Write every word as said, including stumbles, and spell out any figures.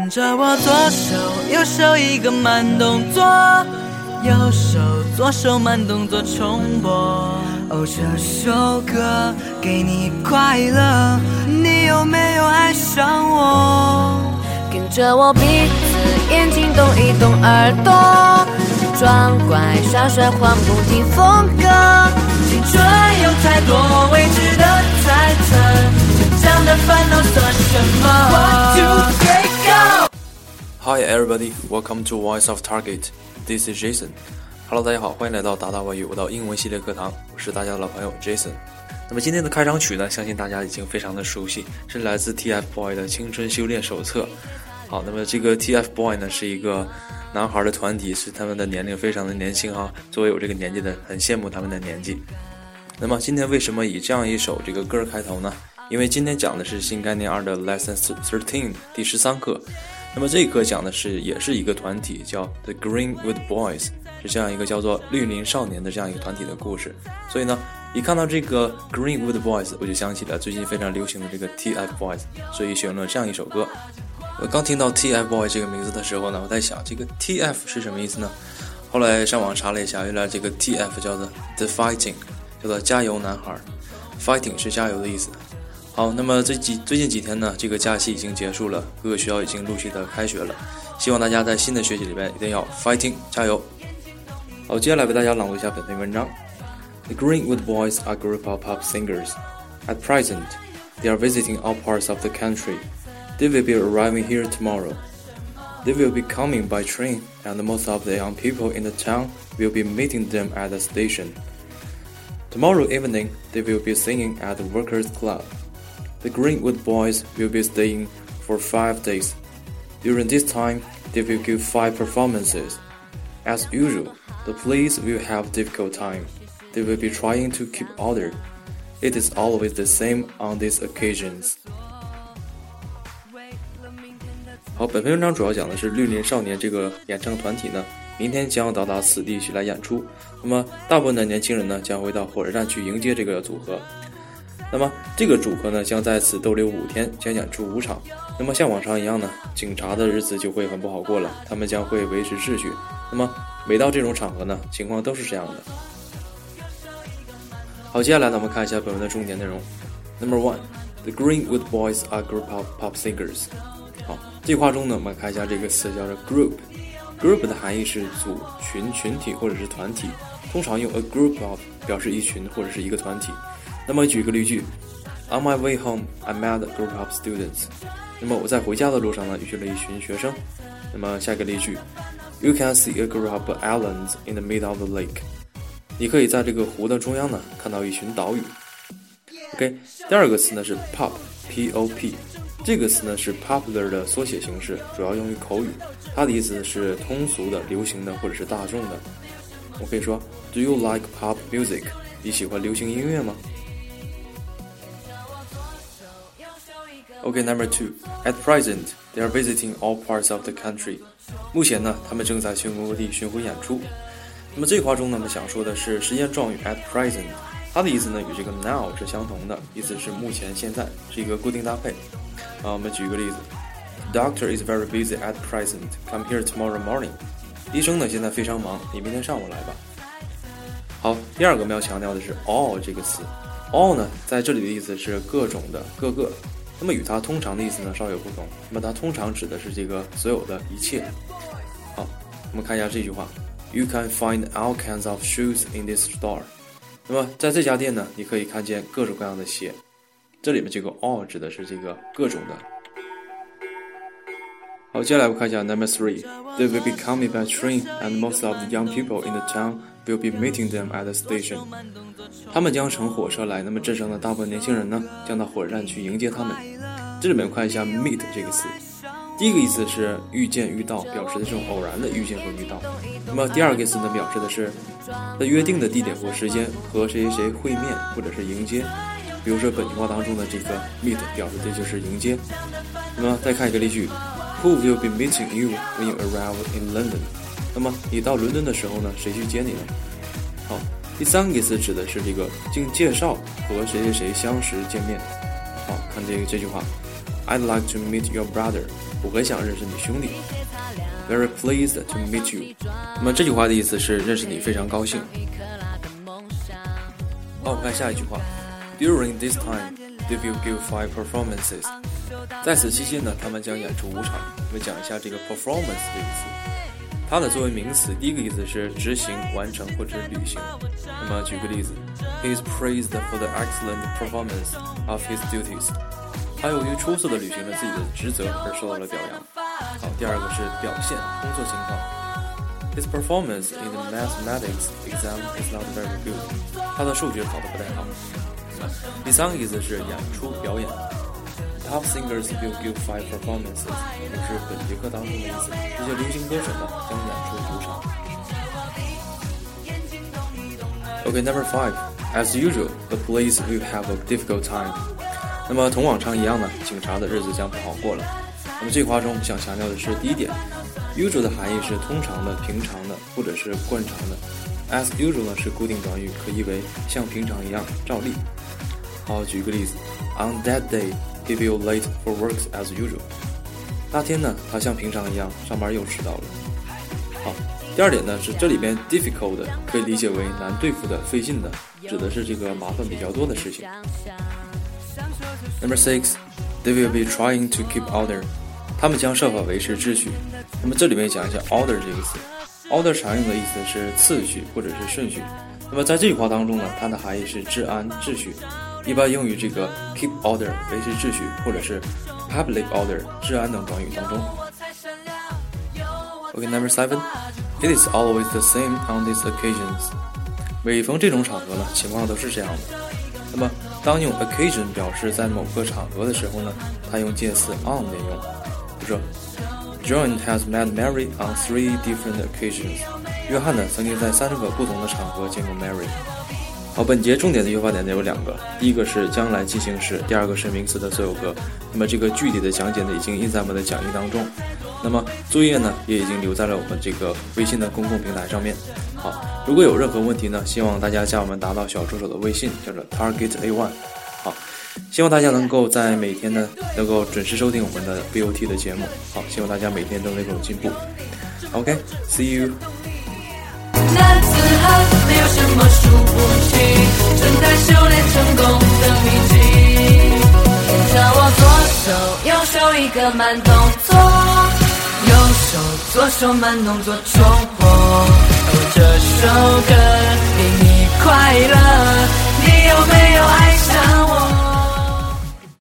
跟着我左手右手一个慢动作，右手左手慢动作重播。哦，这首歌给你快乐，你有没有爱上我？ 跟着我鼻子眼睛动一动耳朵，装乖耍帅换不停风格。 青春有太多未知的猜测，成长的烦恼算什么 One, two, three, go! Hi everybody, welcome to Voice of Target. This is Jason.Hello， 大家好，欢迎来到达达外语我到英文系列课堂，我是大家的老朋友 Jason。那么今天的开场曲呢，相信大家已经非常的熟悉，是来自 T F Boy 的青春修炼手册。好，那么这个 T F Boy 呢是一个男孩的团体，是他们的年龄非常的年轻哈，作为有这个年纪的，很羡慕他们的年纪。那么今天为什么以这样一首这个歌开头呢？因为今天讲的是新概念二的 Lesson 十三第十三课。那么这一课讲的是也是一个团体，叫 The Greenwood Boys， 是这样一个叫做绿林少年的这样一个团体的故事。所以呢，一看到这个 Greenwood Boys， 我就想起了最近非常流行的这个 T F Boys， 所以选了这样一首歌。我刚听到 T F Boy 这个名字的时候呢，我在想这个 T F 是什么意思呢？后来上网查了一下，原来这个 T F 叫做 The Fighting， 叫做加油男孩， Fighting 是加油的意思。好，那么这几最近几天呢，这个假期已经结束了，各个学校已经陆续的开学了，希望大家在新的学期里面一定要 fighting 加油。好，接下来为大家朗读一下本篇文章。The Greenwood Boys are a group of pop singers. At present, they are visiting all parts of the country. They will be arriving here tomorrow. They will be coming by train, and most of the young people in the town will be meeting them at the station. Tomorrow evening, they will be singing at the Workers' Club.The Greenwood Boys will be staying for five days. During this time, they will give five performances. As usual, the police will have a difficult time. They will be trying to keep order. It is always the same on these occasions. 好，本篇文章主要讲的是绿林少年这个演唱团体呢，明天将到达此地去来演出。那么，大部分的年轻人呢，将会到火车站去迎接这个组合。那么这个组合呢将在此逗留五天，将演出五场。那么像往常一样呢，警察的日子就会很不好过了，他们将会维持秩序。那么每到这种场合呢，情况都是这样的。好，接下来呢我们看一下本文的重点内容。Number one, the Greenwood Boys are a group of pop singers. 好，这句话中呢我们看一下这个词叫做 group。group 的含义是组、群、群体或者是团体，通常用 a group of 表示一群或者是一个团体。那么举个例句 On my way home, I met a group of students. 那么我在回家的路上呢，遇见了一群学生。那么下一个例句 You can see a group of islands in the middle of the lake. 你可以在这个湖的中央呢，看到一群岛屿。OK， 第二个词呢是 pop, P O P。这个词呢是 popular 的缩写形式，主要用于口语。它的意思是通俗的、流行的或者是大众的。我可以说 Do you like pop music? 你喜欢流行音乐吗？Okay, number two. At present, they are visiting all parts of the country. 目前呢，他们正在全国各地巡回演出。那么这句话中呢，我们想说的是时间状语 at present， 它的意思呢与这个 now 是相同的，意思是目前、现在，是一个固定搭配。啊，我们举一个例子 ：Doctor is very busy at present. Come here tomorrow morning. 医生呢现在非常忙，你明天上午来吧。好，第二个我们要强调的是 all 这个词。all 呢，在这里的意思是各种的、各个。那么与它通常的意思呢稍有不同，那么它通常指的是这个所有的一切。好，我们看一下这句话 You can find all kinds of shoes in this store. 那么在这家店呢，你可以看见各种各样的鞋。这里面这个 all 指的是这个各种的。好，接下来我看一下 Number three. They will be coming by train, and most of the young people in the town will be meeting them at the station. 他们将乘火车来，那么镇上的大部分年轻人呢，将到火车站去迎接他们。这里面看一下 meet 这个词，第一个意思是遇见、遇到，表示的这种偶然的遇见和遇到。那么第二个意思呢，表示的是在约定的地点或时间和谁谁谁会面或者是迎接。比如说本句话当中的这个 meet 表示的就是迎接。那么再看一个例句 Who will be meeting you when you arrive in London? 那么你到伦敦的时候呢，谁去接你呢？好，第三个意思指的是这个经介绍和谁谁谁相识见面。好，看这个这句话 I'd like to meet your brother. 我很想认识你兄弟。Very pleased to meet you. 那么这句话的意思是认识你非常高兴。好，我们看下一句话。During this time, they will give five performances. 在此期间呢，他们将演出五场。我们讲一下这个 performance 这个词。它呢作为名词，第一个意思是执行、完成或者履行。那么举个例子 ，He is praised for the excellent performance of his duties. 他由于出色的履行了自己的职责而受到了表扬。好，第二个是表现、工作情况。His performance in the mathematics exam is not very good. 他的数学考得不太好。第三个意思是演出、表演。Top singers will give five performances. 也是本节课当中的意思。这些流行歌手呢将演出五场。Okay, number five. As usual, the police will have a difficult time. 那么同往常一样呢，警察的日子将不好过了。那么这句话中我们想强调的是第一点 usual 的含义是通常的、平常的或者是惯常的， as usual 呢是固定短语，可译为像平常一样照例。好，举个例子 On that day, he will late for work as usual. 那天呢，他像平常一样上班又迟到了。好，第二点呢是这里边 difficult 可以理解为难对付的、费劲的，指的是这个麻烦比较多的事情。Number six, they will be trying to keep order. 他们将设法维持秩序。那么这里面讲一下 order 这个词 ，order 常用的意思是次序或者是顺序。那么在这句话当中呢，它的含义是治安、秩序，一般用于这个 keep order 维持秩序，或者是 public order 治安等短语当中。Okay, number seven, it is always the same on these occasions. 每逢这种场合呢，情况都是这样的。那么当用 occasion 表示在某个场合的时候呢，它用介词 on 连用。比如说 John has met Mary on three different occasions. 约翰呢曾经在三个不同的场合见过 Mary。 好，本节重点的语法点呢有两个，第一个是将来进行时，第二个是名词的所有格。那么这个具体的讲解呢已经印在我们的讲义当中，那么作业呢也已经留在了我们这个微信的公共平台上面。好，如果有任何问题呢，希望大家加我们达到小助手的微信，叫做 Target A 一。 好，希望大家能够在每天呢能够准时收听我们的 B O T 的节目。好，希望大家每天都能够进步。 OK, see you。 男子汉没有什么输不起，正在修炼成功的秘籍。 让我左手右手一个慢动作， 右手左手慢动作重播。哦，这首歌给你快乐，你有没有爱上我？